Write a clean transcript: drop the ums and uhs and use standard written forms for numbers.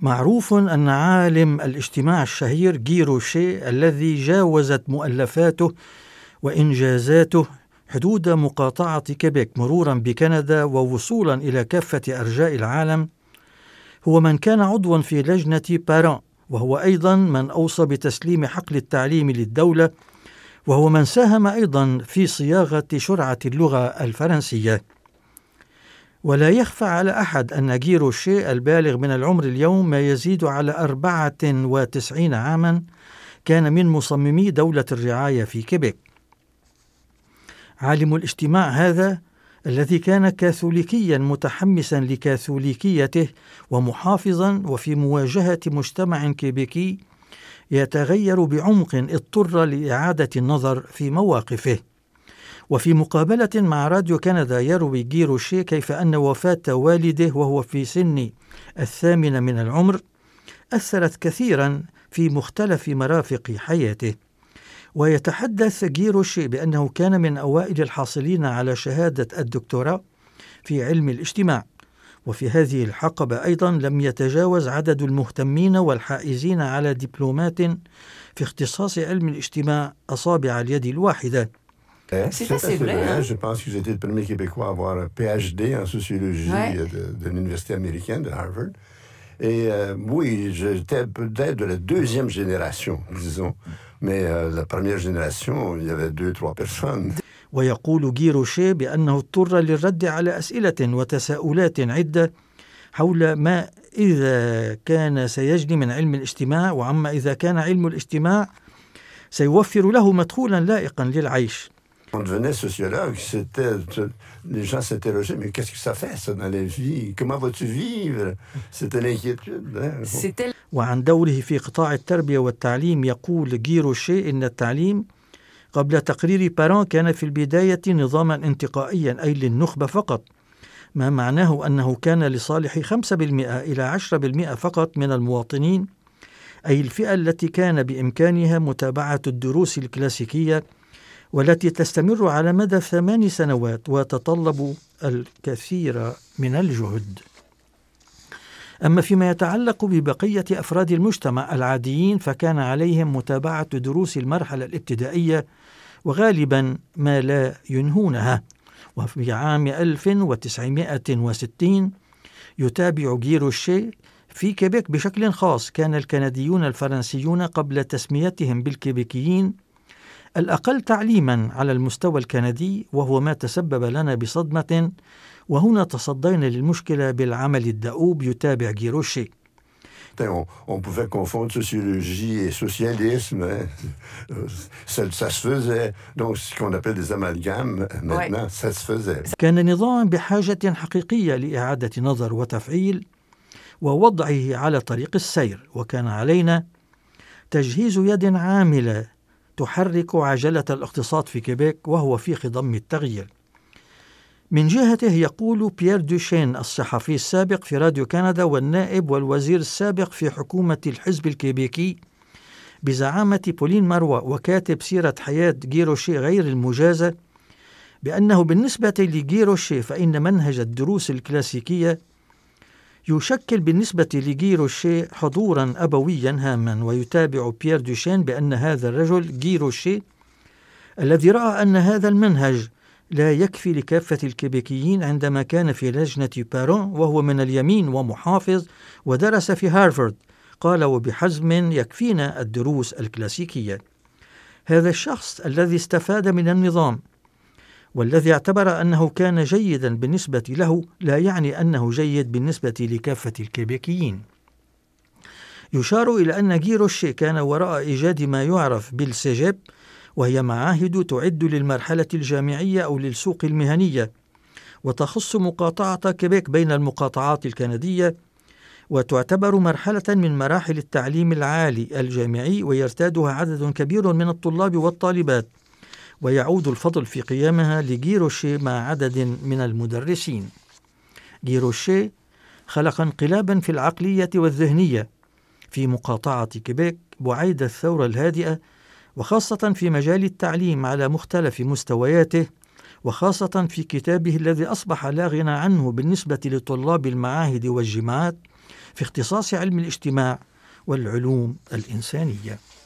معروف أن عالم الاجتماع الشهير جي روشيه الذي جاوزت مؤلفاته وإنجازاته حدود مقاطعة كيبيك مرورا بكندا ووصولا إلى كافة أرجاء العالم، هو من كان عضوا في لجنة باران، وهو أيضا من أوصى بتسليم حقل التعليم للدولة، وهو من ساهم أيضا في صياغة شرعة اللغة الفرنسية. ولا يخفى على أحد أن جي روشيه البالغ من العمر اليوم ما يزيد على 94 عاما كان من مصممي دولة الرعاية في كيبيك. عالم الاجتماع هذا الذي كان كاثوليكيا متحمسا لكاثوليكيته ومحافظا وفي مواجهة مجتمع كيبيكي يتغير بعمق اضطر لإعادة النظر في مواقفه. وفي مقابلة مع راديو كندا يروي جي روشيه كيف أن وفاة والده وهو في سن 8 من العمر أثرت كثيرا في مختلف مرافق حياته. ويتحدث جي روشيه بأنه كان من أوائل الحاصلين على شهادة الدكتوراه في علم الاجتماع، وفي هذه الحقبة أيضا لم يتجاوز عدد المهتمين والحائزين على دبلومات في اختصاص علم الاجتماع أصابع اليد الواحدة. C'est assez vrai. Je pense que j'ai été le premier Québécois à avoir un PhD en sociologie de l'université américaine de Harvard. Et oui, j'étais peut-être de la deuxième génération, disons. Mais la première génération, il y avait 2-3 personnes. ويقول جي روشيه بأنه اضطر للرد على أسئلة وتساؤلات عدة حول ما إذا كان سيجني من علم الاجتماع، وعما إذا كان علم الاجتماع سيوفر له مدخولا لائقا للعيش. On devenait sociologue, les gens s'interrogeaient, mais qu'est-ce que ça fait ça dans la vie? Comment vas-tu vivre? C'était l'inquiétude. وعن دوره في قطاع التربية والتعليم يقول جي روشيه إن التعليم قبل تقرير باران كان في البداية نظاما انتقائيا أي للنخبة فقط، ما معناه أنه كان لصالح 5% إلى 10% فقط من المواطنين، أي الفئة التي كان بإمكانها متابعة الدروس الكلاسيكية والتي تستمر على مدى 8 سنوات وتتطلب الكثير من الجهد. أما فيما يتعلق ببقية أفراد المجتمع العاديين فكان عليهم متابعة دروس المرحلة الابتدائية وغالبا ما لا ينهونها. وفي عام 1960 يتابع جي روشيه في كيبيك بشكل خاص كان الكنديون الفرنسيون قبل تسميتهم بالكيبيكيين الأقل تعليما على المستوى الكندي، وهو ما تسبب لنا بصدمة، وهنا تصدينا للمشكلة بالعمل الدؤوب. يتابع جي روشيه. On pouvait confondre sociologie et socialisme. Ça se faisait. Donc, ce qu'on appelle des amalgames, maintenant, ça se faisait. كان نظام بحاجة حقيقية لإعادة نظر وتفعيل ووضعه على طريق السير، وكان علينا تجهيز يد عاملة تحرك عجلة الاقتصاد في كيبيك وهو في خضم التغيير. من جهته يقول بيير دوشين الصحفي السابق في راديو كندا والنائب والوزير السابق في حكومة الحزب الكيبيكي بزعامة بولين ماروا وكاتب سيرة حياة جي روشيه غير المجازة، بأنه بالنسبة لجي روشيه فإن منهج الدروس الكلاسيكية يشكل بالنسبة لجي روشيه حضورا أبويا هاما. ويتابع بيير دوشين بأن هذا الرجل جي روشيه الذي رأى أن هذا المنهج لا يكفي لكافة الكيبيكيين عندما كان في لجنة باران وهو من اليمين ومحافظ ودرس في هارفارد، قال وبحزم يكفينا الدروس الكلاسيكية. هذا الشخص الذي استفاد من النظام والذي اعتبر أنه كان جيدا بالنسبة له لا يعني أنه جيد بالنسبة لكافة الكيبيكيين. يشار إلى أن جي روشيه كان وراء إيجاد ما يعرف بالسيجيب، وهي معاهد تعد للمرحلة الجامعية أو للسوق المهنية، وتخص مقاطعة كيبيك بين المقاطعات الكندية، وتعتبر مرحلة من مراحل التعليم العالي الجامعي، ويرتادها عدد كبير من الطلاب والطالبات، ويعود الفضل في قيامها لجي روشيه مع عدد من المدرسين. جي روشيه خلق انقلابا في العقلية والذهنية في مقاطعة كيبيك بعيد الثورة الهادئة، وخاصة في مجال التعليم على مختلف مستوياته، وخاصة في كتابه الذي أصبح لا غنى عنه بالنسبة لطلاب المعاهد والجامعات في اختصاص علم الاجتماع والعلوم الإنسانية.